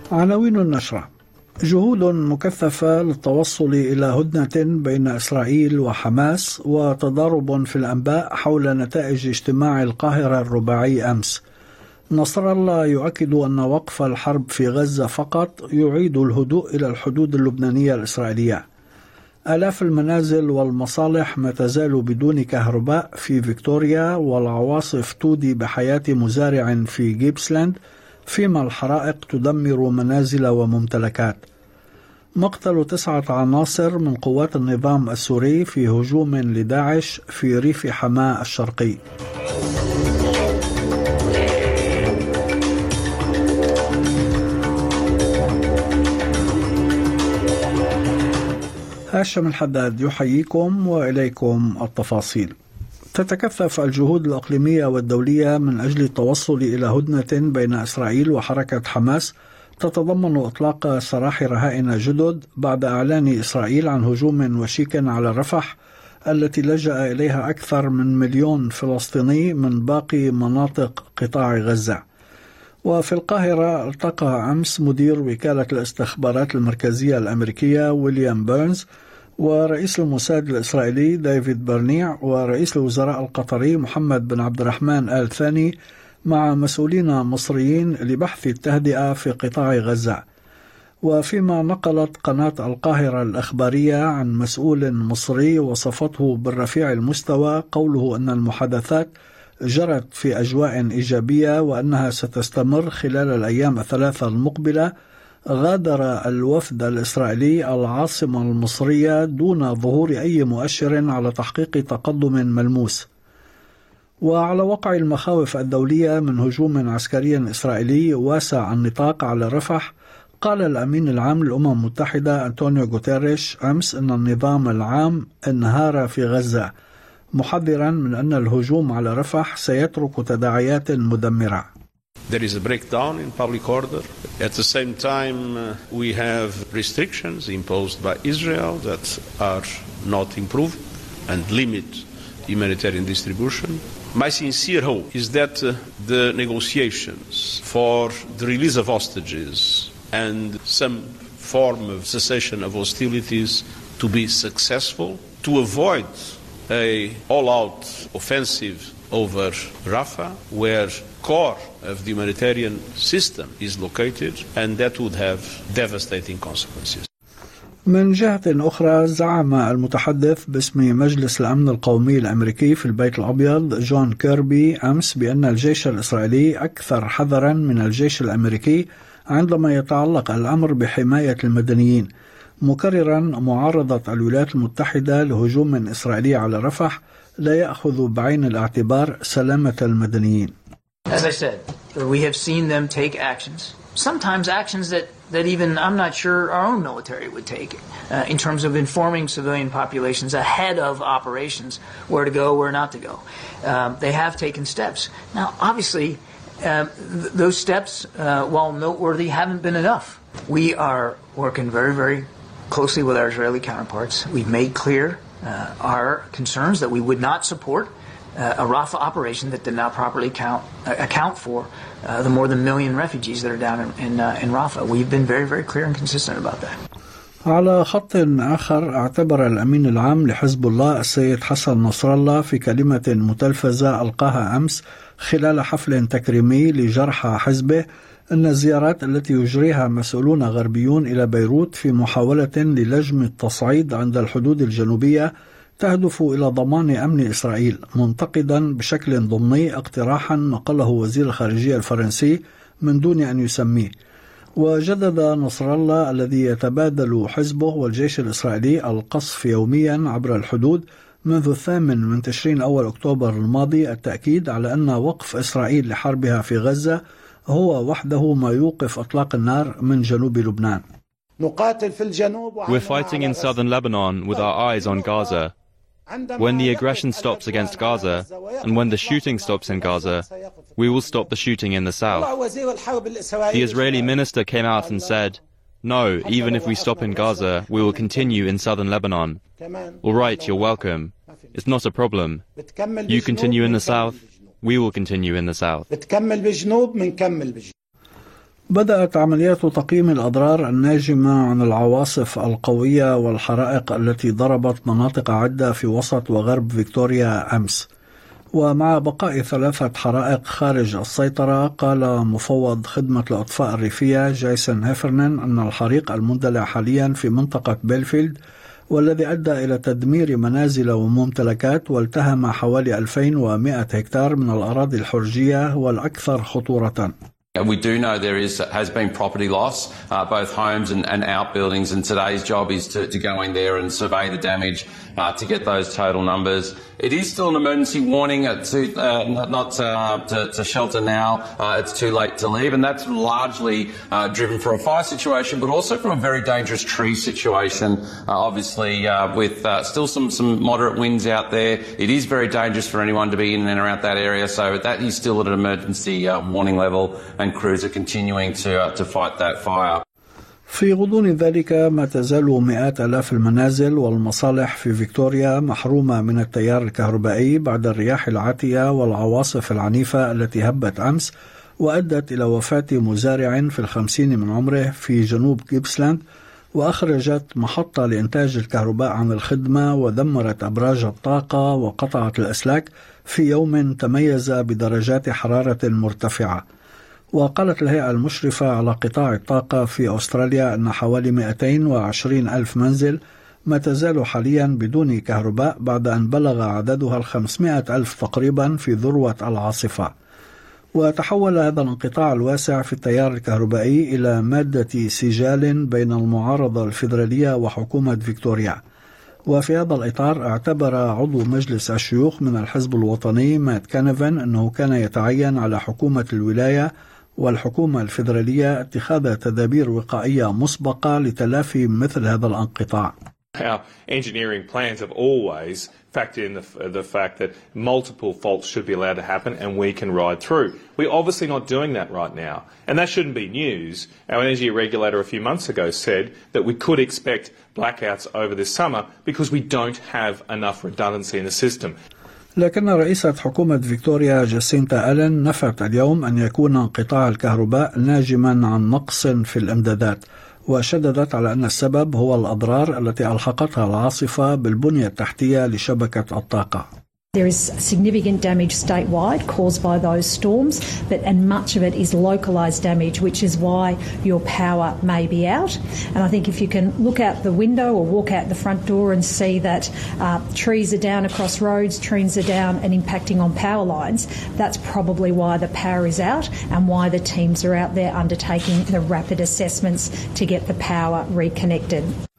عناوين النشرة: جهود مكثفة للتوصل إلى هدنة بين إسرائيل وحماس، وتضارب في الأنباء حول نتائج اجتماع القاهرة الرباعي أمس. نصر الله يؤكد أن وقف الحرب في غزة فقط يعيد الهدوء إلى الحدود اللبنانية الإسرائيلية. آلاف المنازل والمصالح ما تزال بدون كهرباء في فيكتوريا، والعواصف تودي بحياة مزارع في جيبسلاند، فيما الحرائق تدمر منازل وممتلكات. مقتل 9 عناصر من قوات النظام السوري في هجوم لداعش في ريف حماة الشرقي. هاشم الحداد يحييكم وإليكم التفاصيل. تتكثف الجهود الإقليمية والدولية من أجل التوصل إلى هدنة بين إسرائيل وحركة حماس تتضمن إطلاق سراح رهائن جدد بعد إعلان إسرائيل عن هجوم وشيك على رفح التي لجأ إليها أكثر من 1,000,000 فلسطيني من باقي مناطق قطاع غزة. وفي القاهرة التقى أمس مدير وكالة الاستخبارات المركزية الأمريكية ويليام بيرنز ورئيس الموساد الإسرائيلي ديفيد برنيع ورئيس الوزراء القطري محمد بن عبد الرحمن آل ثاني مع مسؤولين مصريين لبحث التهدئة في قطاع غزة. وفيما نقلت قناة القاهرة الأخبارية عن مسؤول مصري وصفته بالرفيع المستوى قوله أن المحادثات جرت في أجواء إيجابية وأنها ستستمر خلال الأيام الثلاثة المقبلة، غادر الوفد الإسرائيلي العاصمة المصرية دون ظهور أي مؤشر على تحقيق تقدم ملموس. وعلى وقع المخاوف الدولية من هجوم عسكري إسرائيلي واسع النطاق على رفح، قال الأمين العام للأمم المتحدة أنطونيو غوتيريش أمس أن النظام العام انهار في غزة، محذرا من أن الهجوم على رفح سيترك تداعيات مدمرة. There is a breakdown in public order. At the same time, we have restrictions imposed by Israel that are not improved and limit humanitarian distribution. My sincere hope is that the negotiations for the release of hostages and some form of cessation of hostilities to be successful, to avoid a all-out offensive over Rafah, where core of the humanitarian system is located, and that would have devastating consequences. من جهة أخرى، زعم المتحدث باسم مجلس الأمن القومي الأمريكي في البيت الأبيض جون كيربي أمس بأن الجيش الإسرائيلي أكثر حذرا من الجيش الأمريكي عندما يتعلق الأمر بحماية المدنيين، مكررا معارضة الولايات المتحدة لهجوم إسرائيلي على رفح لا يأخذ بعين الاعتبار سلامة المدنيين. As I said, we have seen them take actions, sometimes actions that even I'm not sure our own military would take, in terms of informing civilian populations ahead of operations where to go, where not to go. They have taken steps. Now, obviously, those steps, while noteworthy, haven't been enough. We are working very, very closely with our Israeli counterparts. We've made clear our concerns that we would not support a Rafah operation that did not properly account for the more than 1,000,000 refugees that are down in Rafah. We've been very, very clear and consistent about that. على خط آخر، اعتبر الأمين العام لحزب الله السيد حسن نصر الله في كلمة متلفزة ألقاها أمس خلال حفل تكريمي لجرحى حزبه أن الزيارات التي يجريها مسؤولون غربيون إلى بيروت في محاولة للجم التصعيد عند الحدود الجنوبية تهدف إلى ضمان أمن إسرائيل، منتقدا بشكل ضمني اقتراحا نقله وزير الخارجية الفرنسي من دون أن يسميه. وجدد نصر الله الذي يتبادل حزبه والجيش الإسرائيلي القصف يوميا عبر الحدود منذ 8 تشرين أول أكتوبر الماضي التأكيد على أن وقف إسرائيل لحربها في غزة هو وحده ما يوقف إطلاق النار من جنوب لبنان. We're fighting in southern Lebanon with our eyes on Gaza. When the aggression stops against Gaza, and when the shooting stops in Gaza, we will stop the shooting in the south. The Israeli minister came out and said, no, even if we stop in Gaza, we will continue in southern Lebanon. All right, you're welcome. It's not a problem. You continue in the south, we will continue in the south. بدأت عمليات تقييم الأضرار الناجمة عن العواصف القوية والحرائق التي ضربت مناطق عدة في وسط وغرب فيكتوريا أمس. ومع بقاء 3 حرائق خارج السيطرة، قال مفوض خدمة الإطفاء الريفية جايسون هيفرنن أن الحريق المندلع حاليا في منطقة بيلفيلد، والذي أدى إلى تدمير منازل وممتلكات والتهم حوالي 2100 هكتار من الأراضي الحرجية، هو الأكثر خطورة. We do know there has been property loss, both homes and outbuildings, and today's job is to go in there and survey the damage to get those total numbers. It is still an emergency warning to shelter now. It's too late to leave, and that's largely driven from a fire situation, but also from a very dangerous tree situation. Obviously, with still some moderate winds out there, it is very dangerous for anyone to be in and around that area. So that is still at an emergency warning level, and crews are continuing to fight that fire. في غضون ذلك، ما تزال مئات آلاف المنازل والمصالح في فيكتوريا محرومة من التيار الكهربائي بعد الرياح العاتية والعواصف العنيفة التي هبت أمس وأدت إلى وفاة مزارع في 50 من عمره في جنوب جيبسلاند، وأخرجت محطة لإنتاج الكهرباء عن الخدمة، ودمرت أبراج الطاقة وقطعت الأسلاك في يوم تميز بدرجات حرارة مرتفعة. وقالت الهيئة المشرفة على قطاع الطاقة في أستراليا أن حوالي 220 ألف منزل ما تزال حاليا بدون كهرباء بعد أن بلغ عددها 500 ألف تقريبا في ذروة العاصفة. وتحول هذا الانقطاع الواسع في التيار الكهربائي إلى مادة سجال بين المعارضة الفيدرالية وحكومة فيكتوريا. وفي هذا الإطار، اعتبر عضو مجلس الشيوخ من الحزب الوطني مات كانيفن أنه كان يتعين على حكومة الولاية والحكومة الفيدرالية اتخاذ تدابير وقائية مسبقة لتلافي مثل هذا الانقطاع. Our engineering plans have always factored in the fact that multiple faults should be allowed to happen and we can ride through. We're obviously not doing that right now, and that shouldn't be news. Our energy regulator a few months ago said that we could expect blackouts over this summer because we don't have enough redundancy in the system. لكن رئيسة حكومة فيكتوريا جاسينتا ألين نفت اليوم أن يكون انقطاع الكهرباء ناجما عن نقص في الإمدادات، وشددت على أن السبب هو الأضرار التي ألحقتها العاصفة بالبنية التحتية لشبكة الطاقة. There is significant damage statewide caused by those storms, and much of it is localised damage, which is why your power may be out. And I think if you can look out the window or walk out the front door and see that trees are down across roads, trees are down and impacting on power lines, that's probably why the power is out and why the teams are out there undertaking the rapid assessments to get the power reconnected.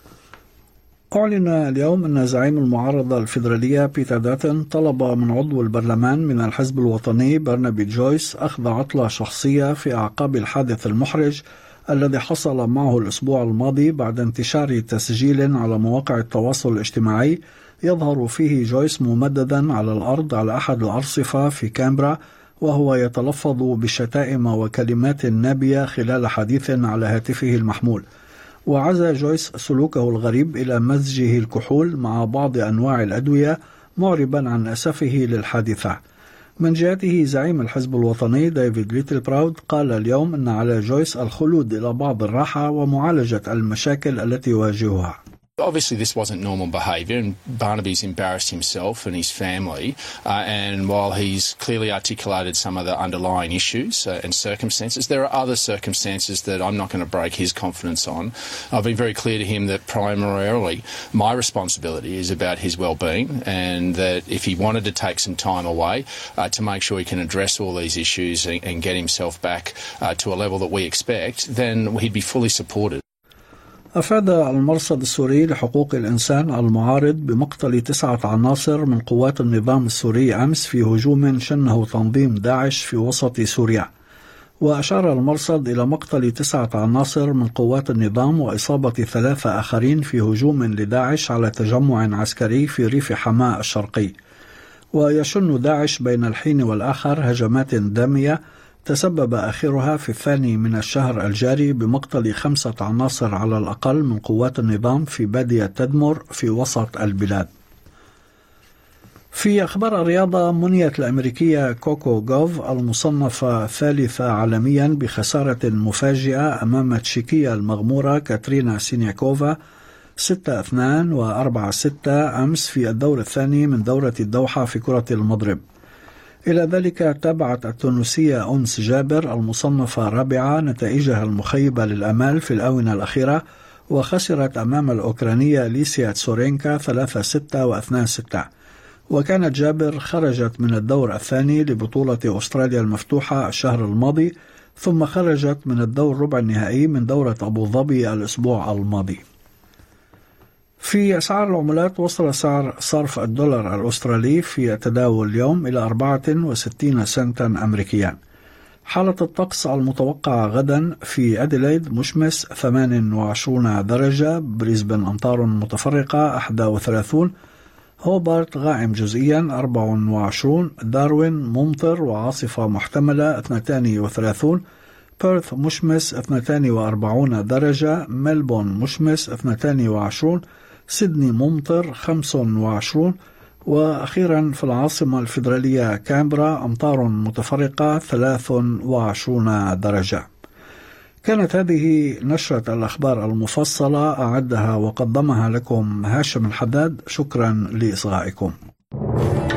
أعلن اليوم أن زعيم المعارضة الفيدرالية بيتر داتن طلب من عضو البرلمان من الحزب الوطني برنابي جويس أخذ عطلة شخصية في أعقاب الحادث المحرج الذي حصل معه الأسبوع الماضي بعد انتشار تسجيل على مواقع التواصل الاجتماعي يظهر فيه جويس ممددا على الأرض على أحد الأرصفة في كامبرا، وهو يتلفظ بشتائم وكلمات نابية خلال حديث على هاتفه المحمول. وعزى جويس سلوكه الغريب إلى مزجه الكحول مع بعض أنواع الأدوية، معربا عن أسفه للحادثة. من جهته، زعيم الحزب الوطني ديفيد ليتل براود قال اليوم أن على جويس الخلود إلى بعض الراحة ومعالجة المشاكل التي يواجهها. Obviously, this wasn't normal behaviour, and Barnaby's embarrassed himself and his family. And while he's clearly articulated some of the underlying issues and circumstances, there are other circumstances that I'm not going to break his confidence on. I've been very clear to him that primarily my responsibility is about his well-being, and that if he wanted to take some time away to make sure he can address all these issues and get himself back to a level that we expect, then he'd be fully supported. أفاد المرصد السوري لحقوق الإنسان المعارض بمقتل 9 عناصر من قوات النظام السوري أمس في هجوم شنه تنظيم داعش في وسط سوريا. وأشار المرصد إلى مقتل 9 عناصر من قوات النظام وإصابة 3 آخرين في هجوم لداعش على تجمع عسكري في ريف حماة الشرقي. ويشن داعش بين الحين والآخر هجمات دامية تسبب آخرها في 2 من الشهر الجاري بمقتل 5 عناصر على الأقل من قوات النظام في بادية تدمر في وسط البلاد. في أخبار الرياضة، منيت الأمريكية كوكو جوف المصنفة ثالثة عالميا بخسارة مفاجئة أمام التشيكية المغمورة كاترينا سينياكوفا 6-2 و4-6 أمس في الدور الثاني من دورة الدوحة في كرة المضرب. إلى ذلك تابعت التونسية أنس جابر المصنفة الرابعة نتائجها المخيبة للأمال في الآونة الأخيرة، وخسرت أمام الأوكرانية ليسيا تسورينكا 3-6 و2-6. وكانت جابر خرجت من الدور الثاني لبطولة أستراليا المفتوحة الشهر الماضي، ثم خرجت من الدور ربع النهائي من دورة أبو ظبي الأسبوع الماضي. في أسعار العملات، وصل سعر صرف الدولار الأسترالي في تداول اليوم إلى 64 سنتا أمريكيا. حالة الطقس المتوقعة غدا: في أديلايد مشمس 28 درجة، بريسبن أمطار متفرقة 31، هوبارت غائم جزئيا 24، داروين ممطر وعاصفة محتملة 32، بيرث مشمس 42 درجة، ملبون مشمس 22، سيدني ممطر 25، وأخيرا في العاصمة الفيدرالية كامبرا أمطار متفرقة 23 درجة. كانت هذه نشرة الأخبار المفصلة، أعدها وقدمها لكم هاشم الحداد. شكرا لإصغائكم.